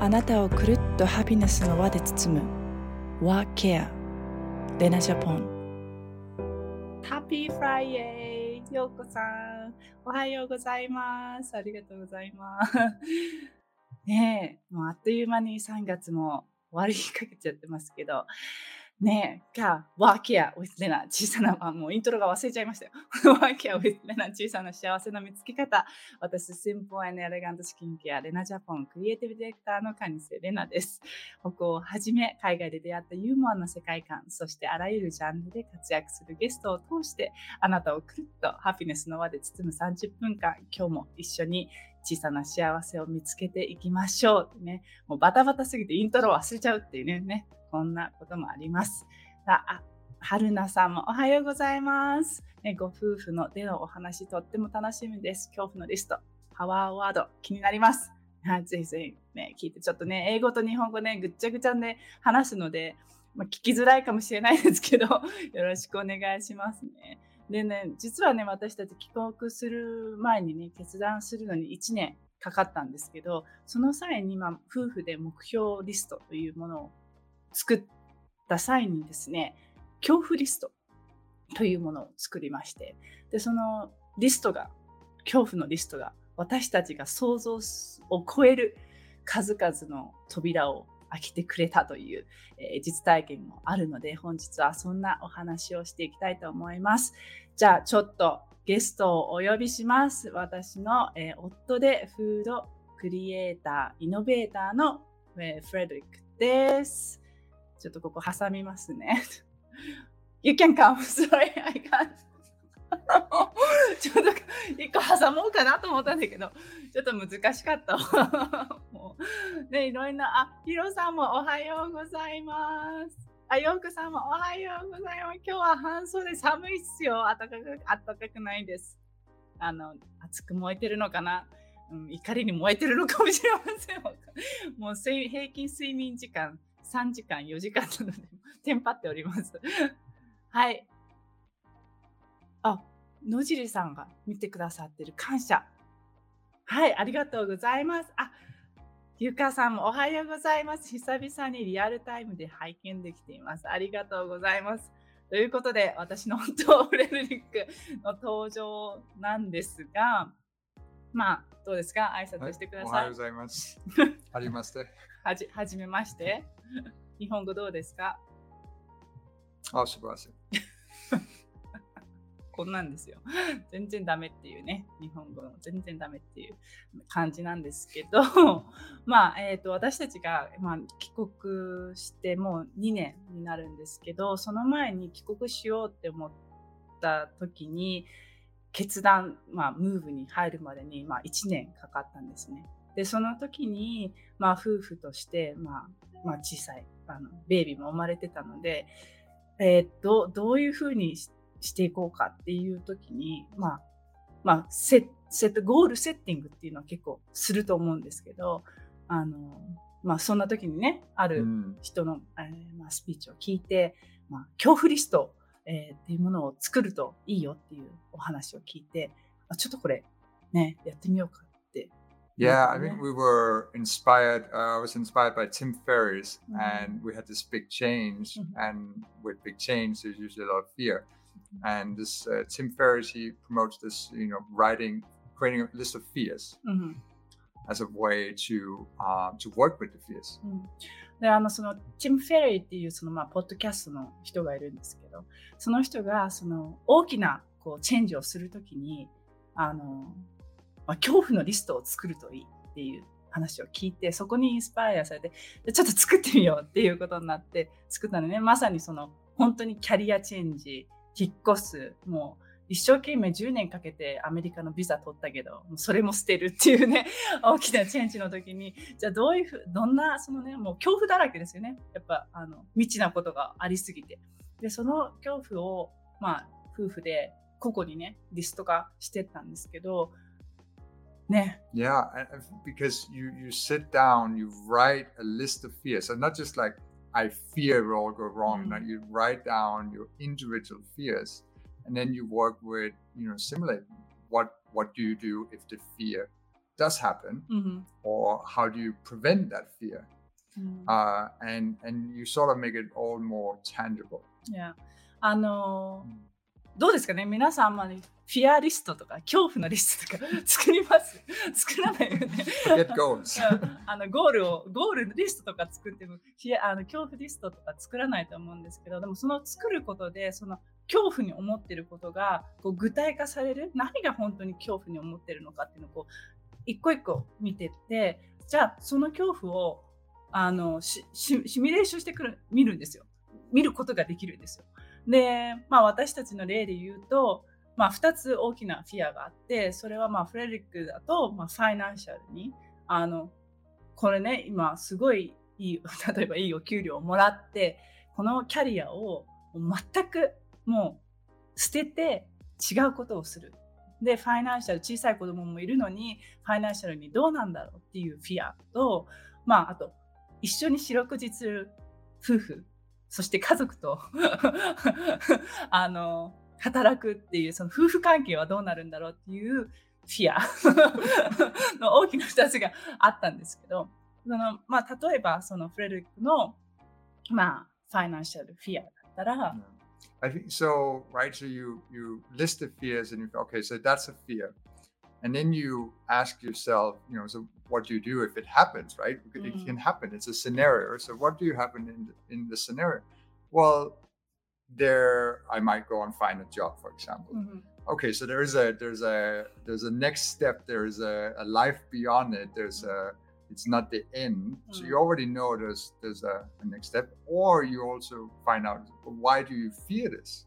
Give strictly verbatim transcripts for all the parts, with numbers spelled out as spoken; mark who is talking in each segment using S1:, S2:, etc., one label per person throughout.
S1: あなたをくるっとハピネスの輪で包む Work Care レナジャポン。ハッピーフライデー、ようこさん、おはようございます。ありがとうございますねえ、もうあっという間にさんがつも終わりかけちゃってますけどねえ、が、ワーケア with レナ、小さな、あ、もうイントロが忘れちゃいましたよ。ワーケア with レナ、小さな幸せの見つけ方。私、シンプル&エレガントスキンケア、レナジャポン、クリエイティブディレクターのカニセレナです。北欧をはじめ、海外で出会ったユーモアな世界観、そしてあらゆるジャンルで活躍するゲストを通して、あなたをくるっとハピネスの輪で包むさんじゅっぷんかん、今日も一緒に小さな幸せを見つけていきましょう。ね、もうバタバタすぎてイントロ忘れちゃうっていうね、ねこんなこともあります。あ、春菜さんもおはようございます、ね、ご夫婦のでのお話とっても楽しみです。恐怖のリスト、パワーワード気になります。ぜひぜひ、ね、聞いてちょっとね、英語と日本語ねぐっちゃぐちゃで話すので、まあ、聞きづらいかもしれないですけどよろしくお願いしますね。でね、実はね、私たち帰国する前にね、決断するのにいちねんかかったんですけど、その際に、まあ、夫婦で目標リストというものを作った際にですね、恐怖リストというものを作りまして、でそのリストが、恐怖のリストが私たちが想像を超える数々の扉を開けてくれたという、えー、実体験もあるので、本日はそんなお話をしていきたいと思います。じゃあちょっとゲストをお呼びします。私の、えー、夫でフードクリエイター、イノベーターの、えー、フレデリックです。ちょっとここ挟みますね。You can come. Sorry, I can't. ちょっと一個挟もうかなと思ったんだけど、ちょっと難しかった。もうね、いろんな、あ、ヒロさんもおはようございます。あ、ヨークさんもおはようございます。今日は半袖寒いっすよ。暖かく、暖かくないです。あの、熱く燃えてるのかな、うん、怒りに燃えてるのかもしれません。もう平均睡眠時間さんじかん、よじかんなので、テンパっております。はい。あ、野尻さんが見てくださってる、感謝。はい、ありがとうございます。あ、ゆかさんもおはようございます。久々にリアルタイムで拝見できています。ありがとうございます。ということで、私の本当フレデリックの登場なんですが、まあ、どうですか？挨拶してください。
S2: はい、おはようございます。はじめまして。
S1: はじ、はじめまして。日本語どうですか？
S2: あ、素晴らしい。
S1: こんなんですよ。全然ダメっていうね。日本語の全然ダメっていう感じなんですけど、まあ、えっと、私たちが、まあ、帰国してもうにねんになるんですけど、その前に帰国しようって思った時に、決断、まあ、ムーブに入るまでに、まあ、いちねんかかったんですね。で、その時に、まあ、夫婦として、まあ、まあ、小さい、あの、ベイビーも生まれてたので、えー、ど, どういうふうにしていこうかっていう時に、まあ、まあ、セセット、ゴールセッティングっていうのは結構すると思うんですけど、あの、まあ、そんな時にね、ある人の、うんえーまあ、スピーチを聞いて、まあ、恐怖リスト、えー、っていうものを作るといいよっていうお話を聞いて、あ、ちょっとこれね、やってみようかって。
S2: Yeah, I think we were inspired. Uh, I was inspired by Tim Ferriss, mm-hmm. and we had this big change. Mm-hmm. And with big change, there's usually a lot of fear. Mm-hmm. And this uh, Tim Ferriss, he promotes this, you know, writing, creating a list of fears mm-hmm. as a way to uh, to work with the fears.
S1: Mm-hmm. であのそのティム・フェリーっていうそのまあポッドキャストの人がいるんですけど、その人がその大きなこうチェンジをするときにあのまあ、恐怖のリストを作るといいっていう話を聞いて、そこにインスパイアされて、ちょっと作ってみようっていうことになって作ったのね。まさにその本当にキャリアチェンジ、引っ越す、もう一生懸命じゅうねんかけてアメリカのビザ取ったけど、もうそれも捨てるっていうね、大きなチェンジの時に、じゃあどういうふう、どんなそのね、もう恐怖だらけですよね。やっぱあの未知なことがありすぎて、でその恐怖をまあ夫婦で個々にねリスト化してったんですけど。ね。
S2: Yeah, because you, you sit down, you write a list of fears. So not just like, I fear it will all go wrong. Mm-hmm. Now you write down your individual fears and then you work with, you know, simulate what, what do you do if the fear does happen, mm-hmm. or how do you prevent that fear? Mm. Uh, and and you sort of make it all more tangible.
S1: Yeah. あのー、どうですかね、皆さんあんまりフィアリストとか恐怖のリストとか作ります作らないよね。
S2: Forget goals.
S1: あのゴールをゴールリストとか作ってもフィアあの恐怖リストとか作らないと思うんですけど、でもその作ることでその恐怖に思っていることがこう具体化される、何が本当に恐怖に思っているのかっていうのをこう一個一個見てって、じゃあその恐怖をあのシミュレーションしてくる見るんですよ。見ることができるんですよ。で、まあ、私たちの例で言うと、まあ、ふたつ大きなフィアがあって、それはまあフレデリックだと、まあ、ファイナンシャルにあのこれね、今すごいいい、例えばいいお給料をもらって、このキャリアを全くもう捨てて違うことをする。で、ファイナンシャル、小さい子供もいるのにファイナンシャルにどうなんだろうっていうフィアと、まあ、あと一緒に四六時中夫婦、そして家族とあの働くっていうその夫婦関係はどうなるんだろうっていうフィアの大きなふたつがあったんですけど、その、まあ、例えばそのフレデリックの、まあ、ファイナンシャルフィアだったら、
S2: I think so, right? So you you list the fears and you okay, so that's a fear. And then you ask yourself, you know, so what do you do if it happens, right? It mm. can happen. It's a scenario. So what do you happen in the, in the scenario? Well, there I might go and find a job, for example. Mm-hmm. Okay, so there's a there's a there's a next step. There's a, a life beyond it. There's a it's not the end. Mm. So you already know there's there's a, a next step. Or you also find out, well, why do you fear this?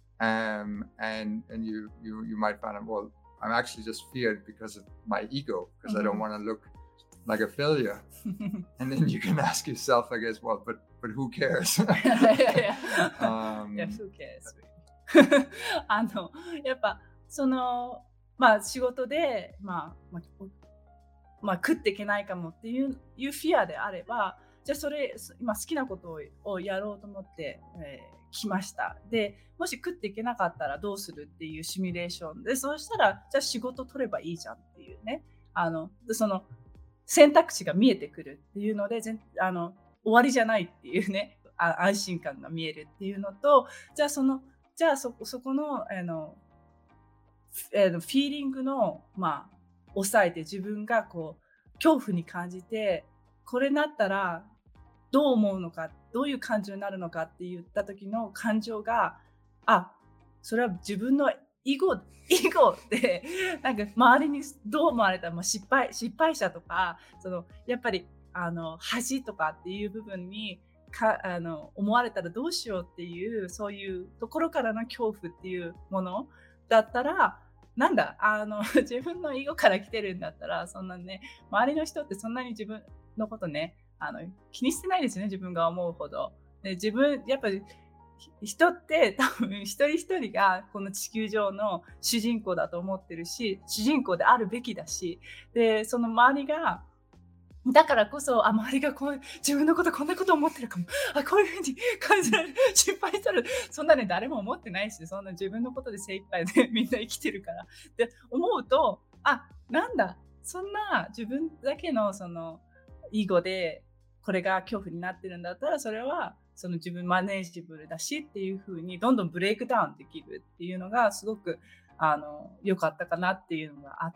S2: Um, and and you you you might find out, well, I'm actually just feared because of my ego, because mm-hmm. I don't want to look like a failure. And then you can ask yourself, I guess, well, but but who cares?
S1: yeah, yeah. um, yeah, who cares? あのやっぱそのまあ仕事でまあまあ、まあ、食っていけないかもっていういうフィアであれば、じゃあそれ今好きなことををやろうと思って、えー来ました。で、もし食っていけなかったらどうするっていうシミュレーションで、そうしたらじゃあ仕事取ればいいじゃんっていうね、あのその選択肢が見えてくるっていうので、あの終わりじゃないっていうね、あ安心感が見えるっていうのと、じゃあそのじゃあそこそこのあのフィーリングのまあ抑えて、自分がこう恐怖に感じて、これなったらどう思うのか、どういう感情になるのかって言った時の感情が、あ、それは自分の囲碁囲碁でなんか周りにどう思われたら、まあ、失敗失敗者とか、そのやっぱりあの恥とかっていう部分にかあの思われたらどうしようっていう、そういうところからの恐怖っていうものだったら、なんだあの自分の囲碁から来てるんだったら、そんなね、周りの人ってそんなに自分のことね、あの気にしてないですよね、自分が思うほど。で、自分やっぱり人って多分一人一人がこの地球上の主人公だと思ってるし、主人公であるべきだし、でその周りがだからこそ、あ、周りがこう自分のことこんなこと思ってるかも、あ、こういうふうに感じられる、失敗したら、そんなね誰も思ってないし、そんな自分のことで精一杯でみんな生きてるからって思うと、あ、なんだ、そんな自分だけのその囲碁でこれが恐怖になってるんだったら、それはその自分マネージブルだしっていう風にどんどんブレイクダウンできるっていうのがすごくあの良かったかなっていうのがあって、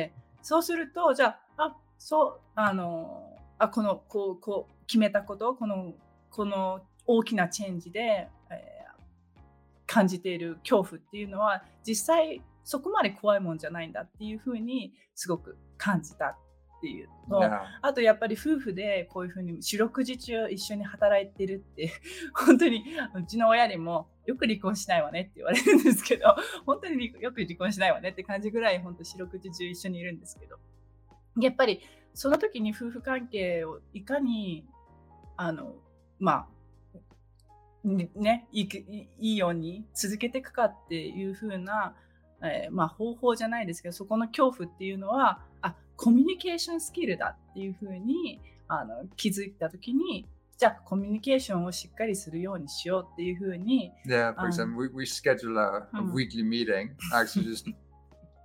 S1: そうするとじゃあ、あ、そうあのあこのこうこう決めたこと、このこの大きなチェンジで、えー、感じている恐怖っていうのは実際そこまで怖いもんじゃないんだっていう風にすごく感じたっていうの、yeah. あとやっぱり夫婦でこういうふうに四六時中一緒に働いてるって本当にうちの親にもよく離婚しないわねって言われるんですけど、本当によく離婚しないわねって感じぐらい本当四六時中一緒にいるんですけど、やっぱりその時に夫婦関係をいかにあのまあねいい、いいように続けていくかっていう風な、えー、まあ方法じゃないですけど、そこの恐怖っていうのは、あ、コミュニケーションスキルだっていうふうにあの気づいたときに、じゃあコミュニケーションをしっかりするようにしようっていうふうに。
S2: Yeah, for example, we, we schedule a, a weekly meeting, actually just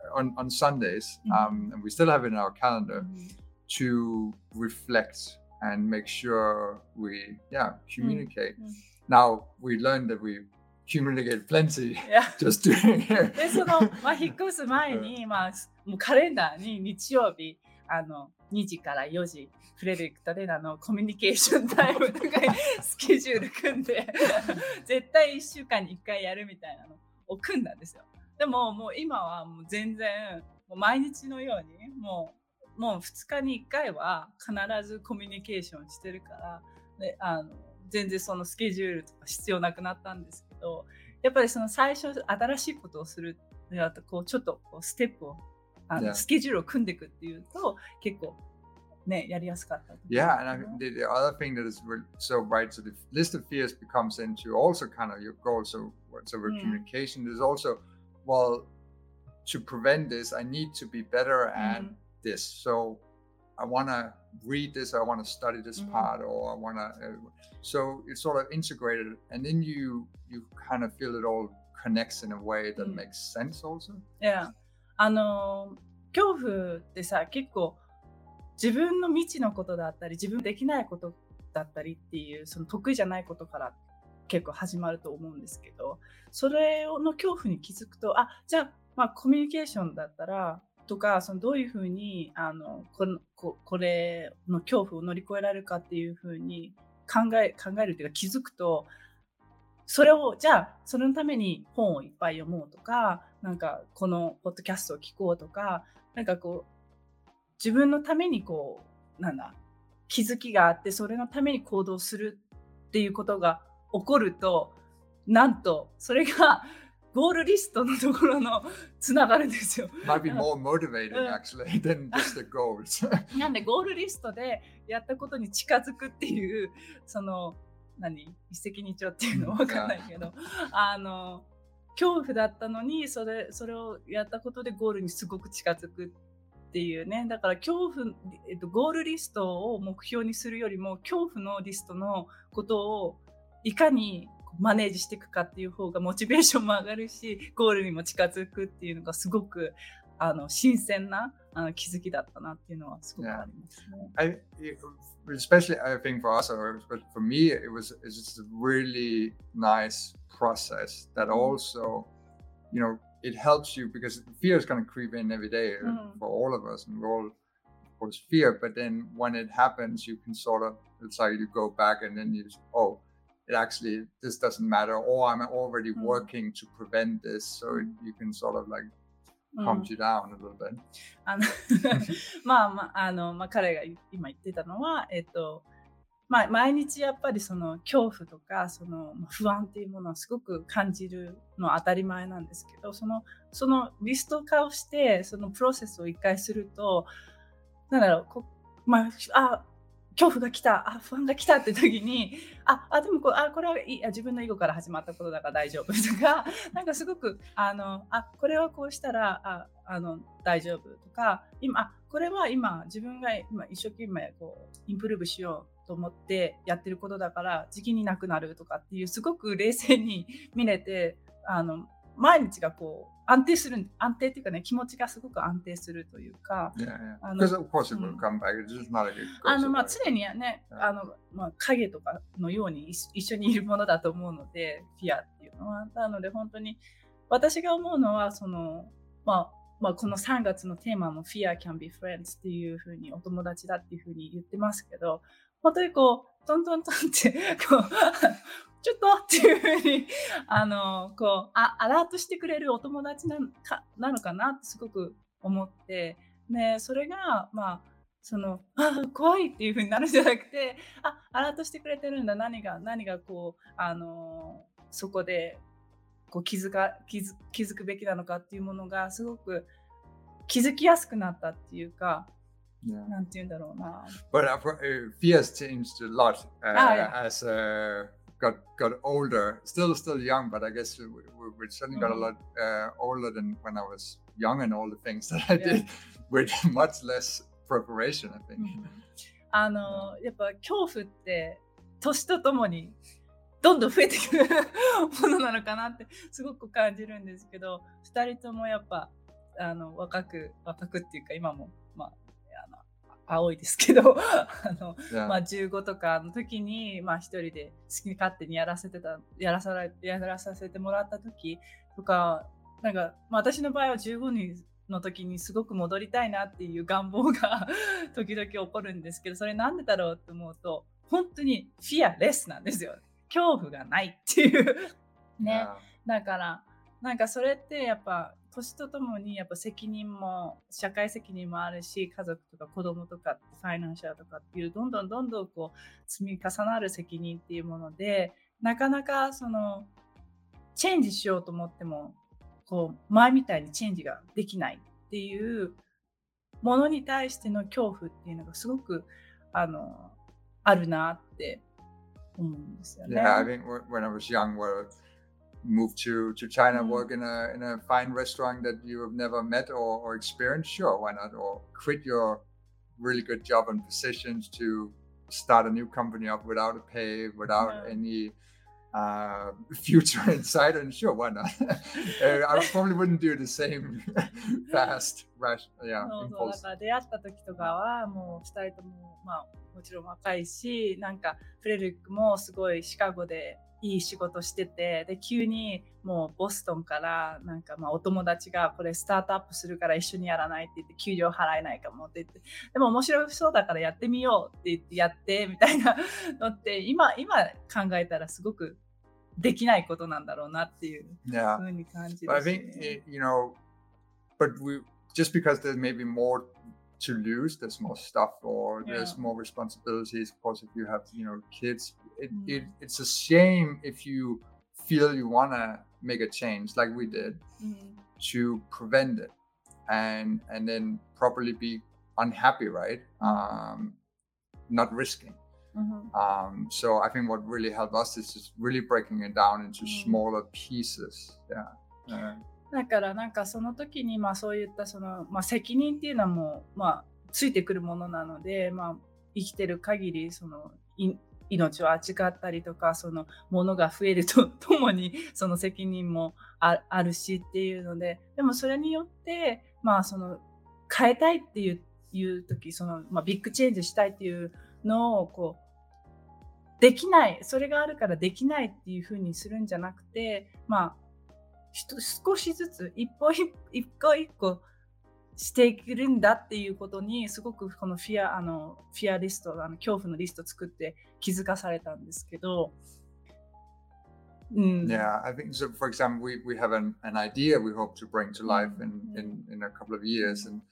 S2: on, on Sundays,
S1: Mhm.
S2: um, and we still have it in our calendar,
S1: Mhm.
S2: to reflect and make sure we, yeah, communicate.
S1: Mhm.
S2: Now, we learned that we communicate plenty
S1: いや
S2: just doing it.
S1: でその、まあ、引っ越す前に、まあ、もうカレンダーに日曜日あのにじからよじフレデリックとレナのコミュニケーションタイムとかスケジュール組んで絶対いっしゅうかんにいっかいやるみたいなのを組んだんですよ。でももう今はもう全然もう毎日のようにもうもうふつかにいっかいは必ずコミュニケーションしてるからであの全然そのスケジュールとか必要なくなったんですけど、やっぱりその最初新しいことをするやとこうちょっとこうステップをあの、
S2: Yeah.
S1: スケジュールを組んでいくっていうと結構ねやりやすかった。
S2: Yeah, and I think the, the other thing that is re- so right, so the list of fears becomes into also kind of your goal. So, so with
S1: Mm.
S2: communication, there's also, well, to prevent this, I need to be better at
S1: Mhm.
S2: this. So, I want to read this, I want to study this
S1: Mhm.
S2: part, or I want to. Uh, so it's sort of integrated, and then you you kind of feel it all connects in a way that
S1: Mm.
S2: makes sense also.
S1: いやあの恐怖ってさ結構自分の未知のことだったり自分できないことだったりっていうその得意じゃないことから結構始まると思うんですけど、それの恐怖に気づくとあじゃあ、まあ、コミュニケーションだったらとかそのどういうふうにあのこの こ, これの恐怖を乗り越えられるかっていうふうに考え考えるっていうか気づくとそれをじゃあそれのために本をいっぱい読もうとかなんかこのポッドキャストを聞こうとかなんかこう自分のためにこうなんだ気づきがあってそれのために行動するっていうことが起こるとなんとそれがゴールリストのところのつながるんですよ。
S2: Might be more motivating
S1: Uh.
S2: actually than just the goals.
S1: なんでゴールリストでやったことに近づくっていうその何一石二鳥っていうの分かんないけどあの恐怖だったのにそれそれをやったことでゴールにすごく近づくっていうね。だから恐怖、えっと、ゴールリストを目標にするよりも恐怖のリストのことをいかにマネージしていくかっていう方がモチベーションも上がるしゴールにも近づくっていうのがすごくあの新鮮なあの気づきだったなっていうのはすごくありますね。
S2: I, especially I think for us, or for me, it was it's just a really nice process that also, you know, it helps you because fear is going to creep in every day
S1: Mm.
S2: for all of us, and we all, of course, fear. But then when it happens, you can sort of, it's like you go back and then you, oh, it actually this doesn't matter, or I'm already
S1: Mm.
S2: working to prevent this, so it, you can sort of like calm you down a little bit.
S1: あのまあまああのまあ彼が今言ってたのはえっとまあ毎日やっぱりその恐怖とかその不安っていうものをすごく感じるのは当たり前なんですけど、そのそのリスト化をしてそのプロセスを一回するとなんだろうこまああ恐怖が来た、あ不安が来たって時に、ああでもこあこれはいいあ自分の囲碁から始まったことだから大丈夫とか、なんかすごくあのあこれはこうしたらああの大丈夫とか、今あこれは今自分が今一生懸命こうインプルーブしようと思ってやってることだから時期になくなるとかっていうすごく冷静に見れてあの毎日がこう安定する安定っていうかね気持ちがすごく安定するというか、
S2: Yeah, yeah. Because of course it will come back. It's just not like it goes
S1: あのまあ
S2: away.
S1: 常にねあのまあ影とかのように一一緒にいるものだと思うのでフィアっていうのはなので本当に私が思うのはそのまあまあこのさんがつのテーマも Fear can be friends っていうふうにお友達だっていうふうに言ってますけど、本当にこうトントントンってこうちょっとっていうふうにあのこうあアラートしてくれるお友達なのかなのかなってすごく思って、ね、それがまあそのあ怖いっていうふうになるんじゃなくて、あアラートしてくれてるんだ、何が何がこうあのそこでこう気づか気づ気づくべきなのかっていうものがすごく気づきやすくなったっていうか。
S2: Yeah.
S1: なんて言うんだろうな。
S2: But uh, for, uh, fear has changed a lot uh,
S1: Ah, yeah.
S2: as uh, got got older. Still, still young, but I guess we, we, we certainly got a lot uh, older than when I was young, and all the things that I
S1: Yeah.
S2: did with much less preparation, I think.
S1: あのやっぱ恐怖って年とともにどんどん増えてくるものなのかなってすごく感じるんですけど、ふたりともやっぱあの若く若くっていうか今もまああの青いですけどあの、yeah. まあ、じゅうごとかの時に、まあ、一人で好き勝手にやらせてたやらされやらさせてもらった時とかなんか、まあ、私の場合はじゅうごにんの時にすごく戻りたいなっていう願望が時々起こるんですけど、それなんでだろうと思うと本当にフィアレスなんですよ。恐怖がないっていうね、yeah. だからなんかそれってやっぱ年とともにやっぱ責任も社会責任もあるし、家族とか子供とかファイナンシャルとかっていうどんどんどんどんこう積み重なる責任っていうもので、なかなかそのチェンジしようと思ってもこう前みたいにチェンジができないっていうものに対しての恐怖っていうのがすごくあのあるなって思うんですよね。
S2: Yeah, I think when I was young, where move to to China, mm. work in a in a fine restaurant that you have never met or, or experienced, sure, why not? Or quit your really good job and positions to start a new company up without a pay, without yeah. any uh, future in sight, and sure, why not? uh, I probably wouldn't do the same fast, rash, yeah,
S1: そうそう
S2: impulse.
S1: だから出会った時とかはもうふたりともまあもちろん若いし、なんかフレデリックもすごいシカゴでいい仕事してて、で急にもうボストンからなんかまあお友達がこれスタートアップするから一緒にやらないって言って給料払えないかもって言って、でも面白そうだからやってみようって言ってやってみたいなのって今今考えたらすごくできないことなんだろうなっていうふうに感じですね。
S2: Yeah. But I think you know, but we just because there may be more to lose, there's more stuff or yeah. there's more responsibilities. Of course, if you have you know kids. It, mm. it, it's a shame if you feel you want to make a change like we did mm. to prevent it and and then probably be unhappy, right? Mm. Um, not risking. Mm-hmm. Um, so I think what really helped us is just really breaking it down into mm. smaller pieces. Yeah. Uh,
S1: だからなんかその時にまあそういったそのまあ責任っていうのはもうまあついてくるものなので、まあ生きてる限りそのい命を扱ったりとか、そのものが増えるとともにその責任も あ, あるしっていうので、でもそれによってまあその変えたいっていう、いう時、そのまあビッグチェンジしたいっていうのをこうできない、それがあるからできないっていう風にするんじゃなくて、まあ少しずつ一歩一個一個していけるんだっていうことにすごくこのフィアあのフィアリストあの恐怖のリストを作って気づかされたんですけど、
S2: うん、Yeah, I think so. For example, we we have an an idea we hope to bring to life in in in a couple of years, and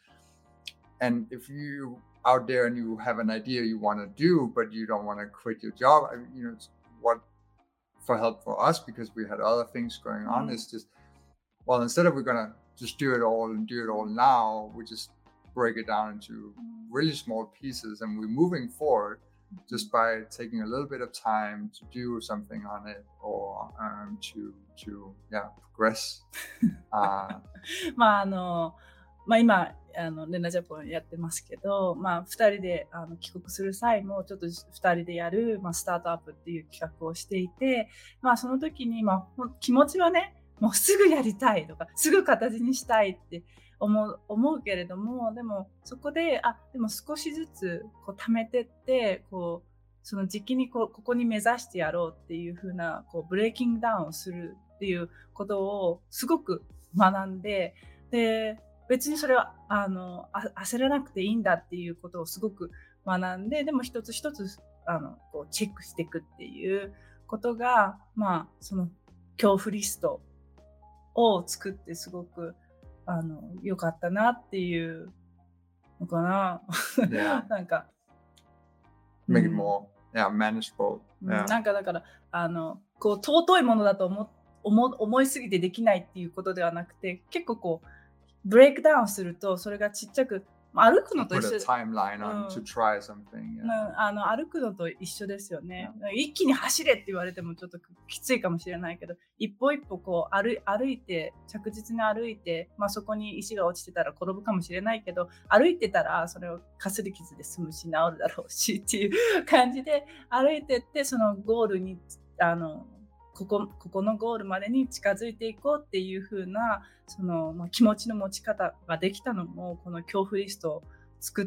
S2: and if you out there and you have an idea you want to do, but you don't want to quit your job, you know, what for help for us because we had other things going on is just well instead of we're gonna just do it all and do it all now, we just break it down into really small pieces and we're moving forward just by taking a little bit of time to do something on it or um, to to yeah progress. uh,
S1: まああのまあ今あのレナジャポンやってますけど、まあふたりであの帰国する際もちょっとふたりでやる、まあ、スタートアップっていう企画をしていて、まあその時にまあ気持ちはねもうすぐやりたいとかすぐ形にしたいって思う、思うけれども、でもそこであでも少しずつこう貯めてってこうその時期にこうここに目指してやろうっていう風なこうブレーキングダウンをするっていうことをすごく学んで、で別にそれはあのあ焦らなくていいんだっていうことをすごく学んで、でも一つ一つあのこうチェックしていくっていうことがまあその恐怖リストを作ってすごくあの良かったなっていうのかな。
S2: Yeah.
S1: なんか
S2: make it more、うん、yeah, manageable、
S1: yeah. なんかだからあのこう尊いものだと思思思いすぎてできないっていうことではなくて、結構こうブレイクダウンするとそれがちっちゃく歩くのと一緒、うん、あの歩くのと一緒ですよね、yeah. 一気に走れって言われてもちょっときついかもしれないけど、一歩一歩こう 歩, 歩いて着実に歩いて、まあ、そこに石が落ちてたら転ぶかもしれないけど、歩いてたらそれをかすり傷で済むし治るだろうしっていう感じで歩いてって、そのゴールにあのここ、ここのゴールまでに近づいていこうっていう風なその、まあ、気持ちの持ち方ができたのもこの恐怖リストを作った、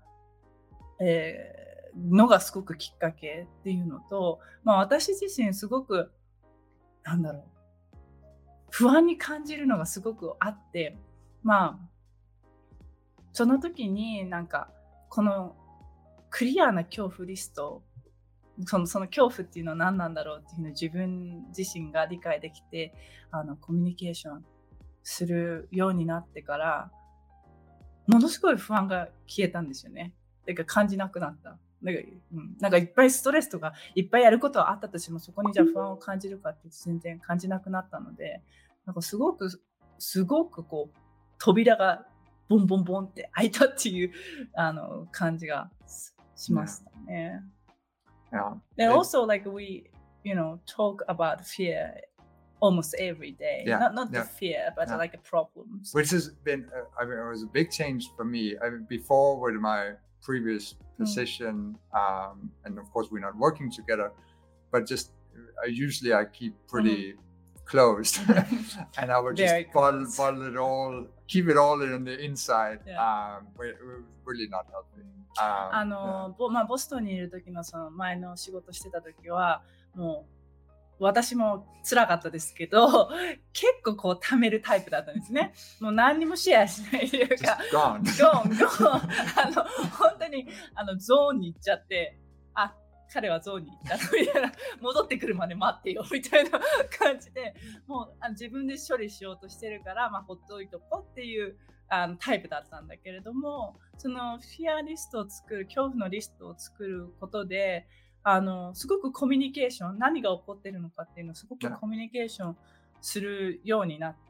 S1: えー、のがすごくきっかけっていうのと、まあ、私自身すごくなんだろう不安に感じるのがすごくあって、まあその時になんかこのクリアな恐怖リスト、その、その恐怖っていうのは何なんだろうっていうのを自分自身が理解できて、あのコミュニケーションするようになってからものすごい不安が消えたんですよね。だから感じなくなった。なんか、うん、なんかいっぱいストレスとかいっぱいやることはあったとしても、そこにじゃあ不安を感じるかって全然感じなくなったので、なんかすごくすごくこう扉がボンボンボンって開いたっていうあの感じがしましたね。
S2: Yeah.
S1: And also like we, you know, talk about fear almost every day.
S2: Yeah.
S1: Not not
S2: yeah.
S1: the fear, but
S2: yeah.
S1: like a problems.
S2: Which has been, uh, I mean, it was a big change for me. I mean, before with my previous position, mm. um, and of course we're not working together, but just I usually I keep pretty mm. closed, and I would just bottle, bottle it all, keep it all in the inside. Yeah. Um, but it was really not helping. Um,
S1: あの、yeah. まあボストンにいる時のその前の仕事してた時はもう私も辛かったですけど、結構こう貯めるタイプだったんですね。もう何にもシェアしないというか、
S2: gone,
S1: gone, gone. あの本当にあのゾーンに行っちゃって、あ、彼はゾーンに行ったみたいな、戻ってくるまで待ってよみたいな感じで、もうあの自分で処理しようとしてるから、まあほっといとこうっていうあのタイプだったんだけれども、そのフィアリストを作る、恐怖のリストを作ることで、あのすごくコミュニケーション、何が起こっているのかっていうのをすごくコミュニケーションするようになって、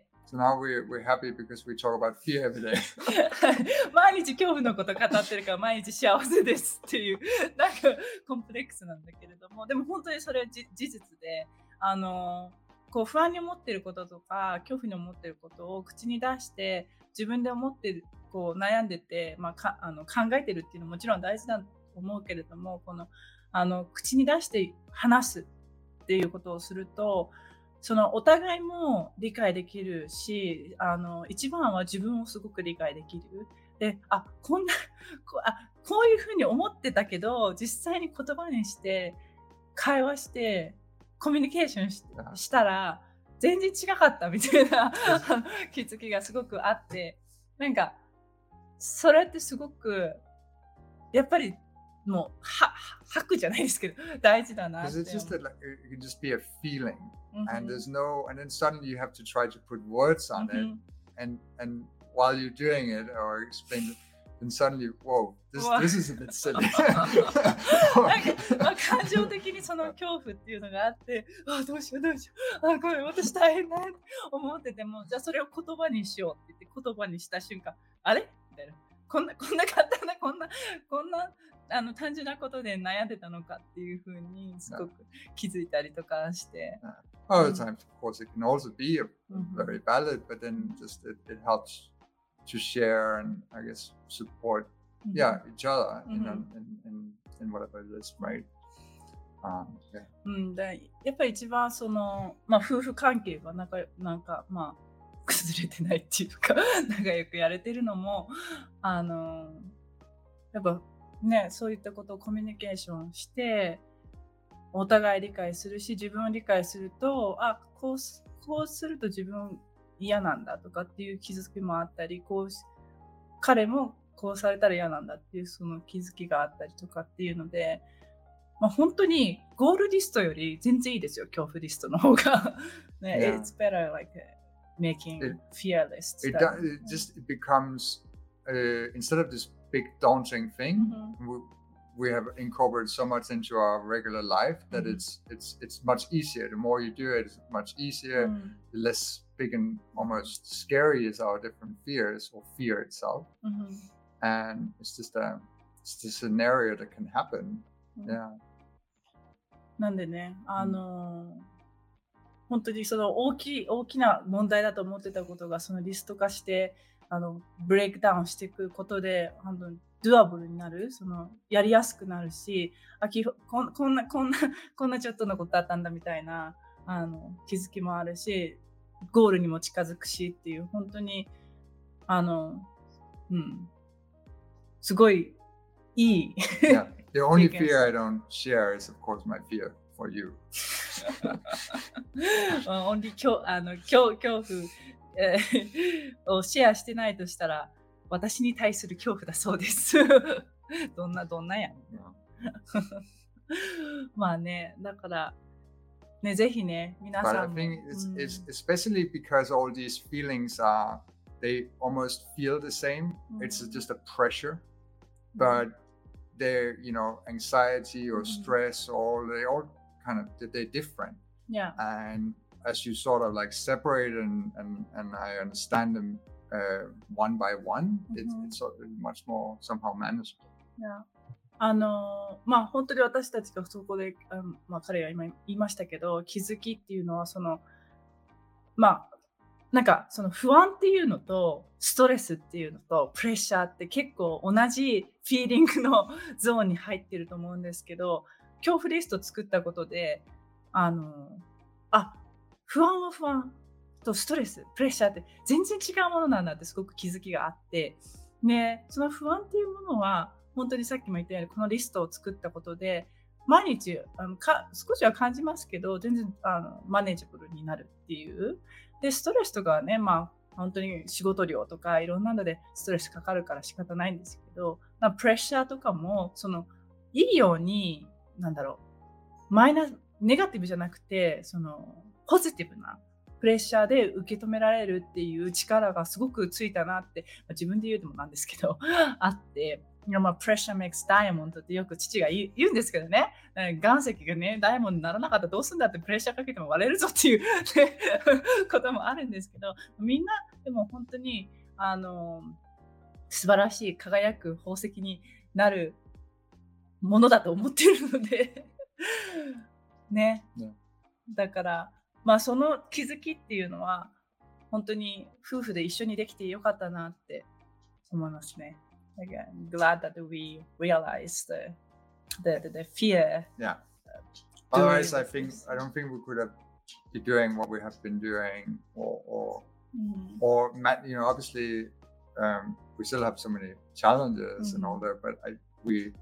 S2: So now we're, we're happy because we talk about fear every day.
S1: 毎日恐怖のこと語ってるから毎日幸せですっていうなんかコンプレックスなんだけれども、でも本当にそれは事実で、あのこう不安に思っていることとか恐怖に思っていることを口に出して自分で思ってるこう悩んでて、まあ、かあの考えてるっていうのももちろん大事だと思うけれども、このあの口に出して話すっていうことをすると、そのお互いも理解できるし、あの一番は自分をすごく理解できる。で、あ、こんなこあこういうふうに思ってたけど実際に言葉にして会話してコミュニケーション し, したら全然違かったみたいな気づきがすごくあって、なんかそれってすごくやっぱりもうは吐くじゃないですけど大事だなって。
S2: Because it's just that like, it can just be a feeling, mm-hmm. and there's no, and then suddenly you have to try to put words on mm-hmm. it, and and while you're doing it or explain it, then suddenly, whoa, this this is a bit silly.
S1: なんか、まあ、感情的にその恐怖っていうのがあって、あどうしようどうしよう、あこれ私大変だって思ってても、じゃあそれを言葉にしようって言って言葉にした瞬間、あれみたいな、こんなこんな簡単なこんなこんなあの単純なことで悩んでたのかっていうふうにすごく気づいたりとかして。
S2: Oh, at times, of course, it can also be a, mm-hmm. very valid, but then just it, it helps to share and I guess support, mm-hmm. yeah, each other mm-hmm. in, in, in, in whatever it is, right? Um, yeah.
S1: うん、でやっぱり一番その、まあ、夫婦関係がなんか、なんかまあ崩れてないっていうか仲良くやれてるのもあのやっぱね、そういったことをコミュニケーションしてお互い理解するし、自分を理解すると、あ、こう、こうすると自分嫌なんだとかっていう気づきもあったり、こう彼もこうされたら嫌なんだっていうその気づきがあったりとかっていうので、まあ、本当にゴールリストより全然いいですよ、恐怖リストの方が。ね、yeah. It's better like making it, fear lists.
S2: It, does, it just it becomes uh, instead of this big daunting thing, mm-hmm. we, we have incorporated so much into our regular life that mm-hmm. it's it's it's much easier. The more you do it, it's much easier. Mm-hmm. The less big and almost scary is our different fears or fear itself. Mm-hmm. And it's just a it's a scenario that can happen. Mm-hmm. Yeah.
S1: なんでね、あのー、本当にその大きい大きな問題だと思ってたことがそのリスト化してあのブレイクダウンしていくことで本当にドゥアブルになる、そのやりやすくなるし、あきこんこんなこんなこんなちょっとのことだったんだみたいなあの気づきもあるし、ゴールにも近づくしっていう、本当にあの、うん、すごいいい。
S2: Yeah, the only fear I don't share is, of course, my fear for you.
S1: only 恐あの恐恐怖、えー、をシェアしてないとしたら、私に対する恐怖だそうです。どんなどんなやん。まあね、だからね、ぜひね、皆さんも。
S2: But I think it's, it's especially because all these feelings are, they almost feel the same. It's just a pressure, but they're, you know, anxiety or stress, or they all kind of, they're different.
S1: Yeah.
S2: And as you sort of like separate and and, and I understand them uh, one by one, it's, it's sort of much more somehow manageable.
S1: Yeah. あのまあ本当に私たちがそこで、あのまあ、彼が今言いましたけど、気づきっていうのはそのまあなんかその不安っていうのとストレスっていうのとプレッシャーって結構同じフィーリングのゾーンに入ってると思うんですけど、恐怖リスト作ったことで、あのあ不安は不安とストレス、プレッシャーって全然違うものなんだってすごく気づきがあって、ね、その不安っていうものは本当にさっきも言ったようにこのリストを作ったことで毎日あのか少しは感じますけど、全然あのマネージブルになるっていう。でストレスとかはね、まあ本当に仕事量とかいろんなのでストレスかかるから仕方ないんですけど、まあ、プレッシャーとかもそのいいようになんだろう、マイナスネガティブじゃなくてそのポジティブなプレッシャーで受け止められるっていう力がすごくついたなって、まあ、自分で言うのもなんですけどあって、いやまあプレッシャー makes diamond ってよく父が言うんですけどね、岩石がねダイヤモンドにならなかったらどうするんだってプレッシャーかけても割れるぞっていう、ね、こともあるんですけど、みんなでも本当にあの素晴らしい輝く宝石になるものだと思っているのでね、
S2: ね、
S1: だからまあその気づきっていうのは本当に夫婦で一緒にできてよかったなって思いますね。Like, I'm glad that we realized the the the, the fear.
S2: Yeah. Otherwise, I think I don't think we could have been doing what we have been doing, or or
S1: mm.
S2: or you know, obviously, um, we still have so many challenges mm-hmm. and all that, but I we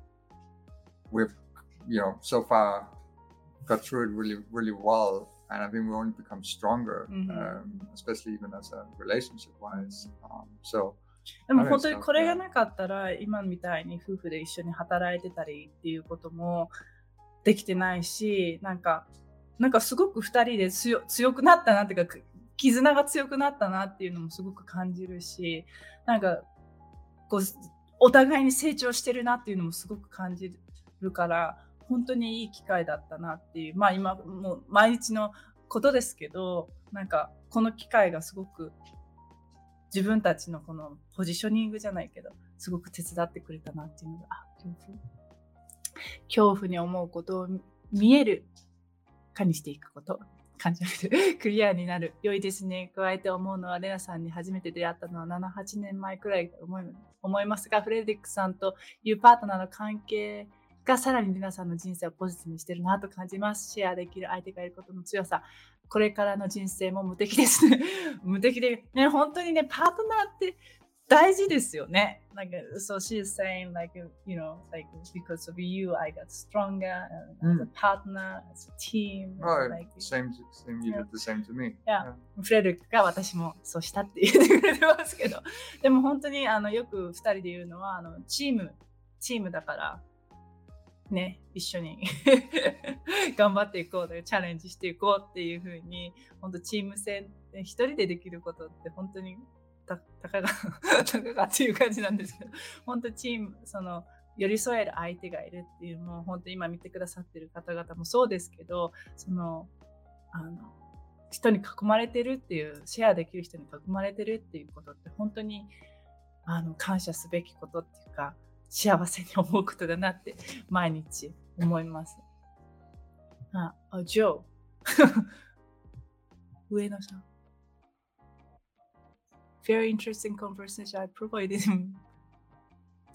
S2: we've you know so far got through it really really well. And I think we only become stronger, mm-hmm. um, especially even as a relationship-wise. Um, so,
S1: でも本当にこれがなかったら今みたいに夫婦で一緒に働いてたりっていうこともできてないし、なんかなんかすごくふたりで強強くなったなっていうか、絆が強くなったなっていうのもすごく感じるし、なんかこうお互いに成長してるなっていうのもすごく感じるから。本当にいい機会だったなっていう、まあ今もう毎日のことですけど、なんかこの機会がすごく自分たちのこのポジショニングじゃないけど、すごく手伝ってくれたなっていうのが、あ、恐怖恐怖に思うことを見えるかにしていくこと、感じるクリアになる、良いですね。加えて思うのはレナさんに初めて出会ったのはなな、はちねんまえくらいと思い、思いますが、フレデリックさんというパートナーの関係がさらに皆さんの人生をポジティブにしてるなと感じます。シェアできる相手がいることの強さ、これからの人生も無敵ですね。無敵で、ね、本当にね、パートナーって大事ですよね。Like, so she's saying, like, you know, like, because of you, I got stronger as a partner, as a team.
S2: Oh,
S1: like,
S2: same, same, you did the same to me.
S1: Yeah. フレデリックが私もそうしたって言ってくれてますけど、でも本当にあのよくふたりで言うのは、あのチーム、チームだから、ね、一緒に頑張っていこうとチャレンジしていこうっていう風に本当チーム戦一人でできることって本当にたたかがたかがっていう感じなんですけど、本当チームその寄り添える相手がいるっていうもう本当今見てくださってる方々もそうですけど、そのあの人に囲まれてるっていうシェアできる人に囲まれてるっていうことって本当にあの感謝すべきことっていうか。幸せに思うことだなって毎日思います。あ、あ、ジョー。上野さん。Very interesting conversation. I provided him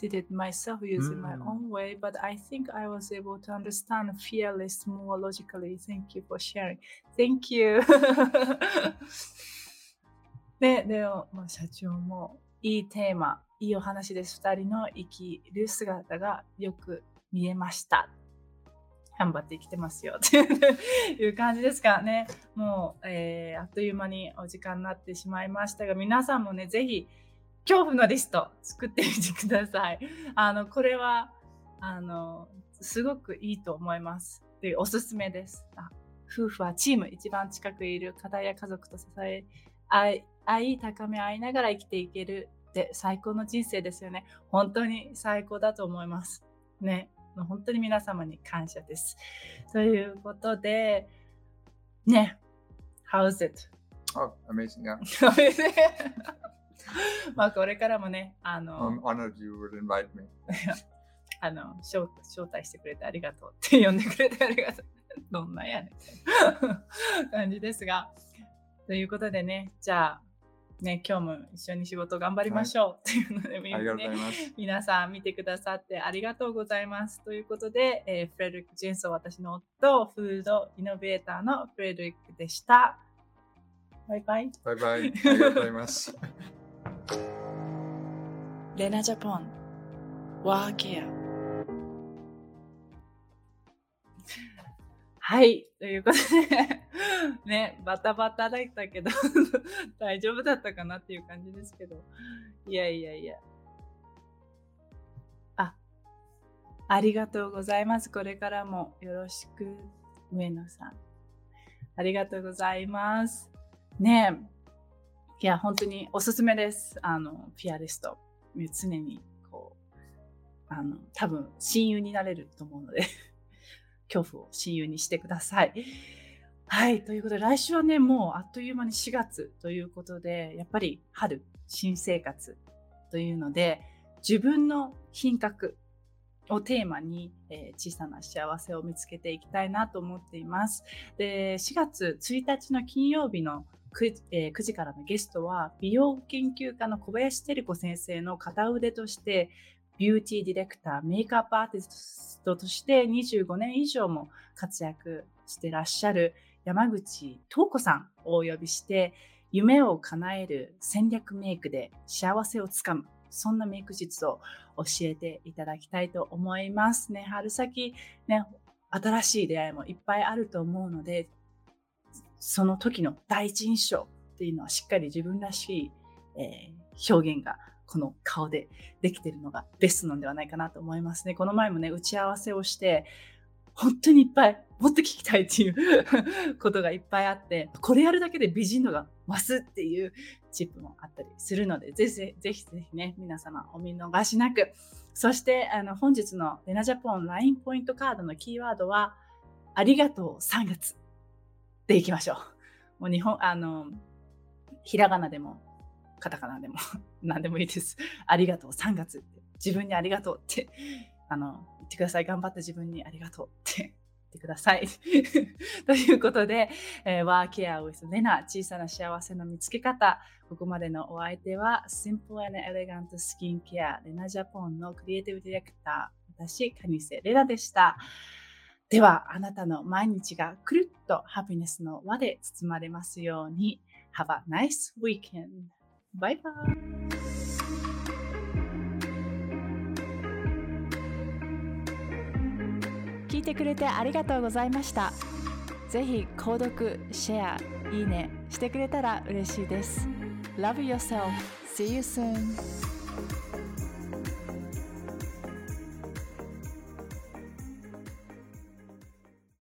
S1: did it myself using
S2: Mm.
S1: my own way, but I think I was able to understand fearless more logically. Thank you for sharing. Thank you. で、でも、まあ、社長もいいテーマ、いいお話です。二人の生きる姿がよく見えました。頑張って生きてますよっていう感じですからね。もう、えー、あっという間にお時間になってしまいましたが、皆さんもね、ぜひ恐怖のリスト作ってみてください。あの、これは、あの、すごくいいと思います。で、おすすめです。あ、夫婦はチーム、一番近くいる方や家族と支え、愛、愛高め合いながら生きていけるって最高の人生ですよね。本当に最高だと思います。ね。本当に皆様に感謝です。ということで、ね、How's it?
S2: Oh, amazing, yeah.
S1: まあこれからもね、あの、
S2: I'm honored you would invite me.
S1: あの招、招待してくれてありがとうって呼んでくれてありがとう。どんなやねん感じですが。ということでね、じゃあ、ね、今日も一緒に仕事頑張りましょうっていうので、
S2: はい、ありがとうございます。
S1: 皆さん見てくださってありがとうございます。ということで、えー、フレデリック・ジェンソン、私の夫、フードイノベーターのフレデリックでした。バイバイ。
S2: バイバイ。ありがとうございます。
S1: レナジャポン、ワーケア。はい、ということでね、バタバタだったけど大丈夫だったかなっていう感じですけど、いやいやいや、あ、ありがとうございます。これからもよろしく、上野さん。ありがとうございます。ねえ、いや本当におすすめです。あのピアリスト、常にこうあの多分親友になれると思うので。恐怖を親友にしてください。はい、ということで来週はね、もうあっという間にしがつということで、やっぱり春、新生活というので、自分の品格をテーマに、えー、小さな幸せを見つけていきたいなと思っています。で、しがつついたちの金曜日の 9, えー、くじからのゲストは、美容研究家の小林照子先生の片腕として、ビューティーディレクター、メイクアップアーティストとしてにじゅうごねん以上も活躍してらっしゃる山口東子さんをお呼びして、夢を叶える戦略メイクで幸せをつかむ、そんなメイク術を教えていただきたいと思いますね。春先ね、新しい出会いもいっぱいあると思うので、その時の第一印象っていうのはしっかり自分らしい、えー、表現がこの顔でできているのがベストなんではないかなと思いますね。この前もね、打ち合わせをして、本当にいっぱいもっと聞きたいっていうことがいっぱいあって、これやるだけで美人度が増すっていうチップもあったりするので、ぜひぜひぜひね、皆様お見逃しなく。そしてあの本日のレナジャポン ライン ポイントカードのキーワードは、ありがとうさんがつでいきましょう。もう日本、あの、ひらがなでも、カタカナでも何でもいいです。ありがとうさんがつって、自分にありがとうってあの言ってください。頑張った自分にありがとうって言ってください。ということで、えー、ワーケア with レナ、小さな幸せの見つけ方。ここまでのお相手は Simple and Elegant Skin Care レナジャポンのクリエイティブディレクター、私、蟹瀬レナでした。では、あなたの毎日がくるっとハピネスの輪で包まれますように。Have a nice weekend. バイバイ。聞いてくれてありがとうございました。ぜひ購読、シェア、いいねしてくれたら嬉しいです。Love yourself. See you soon.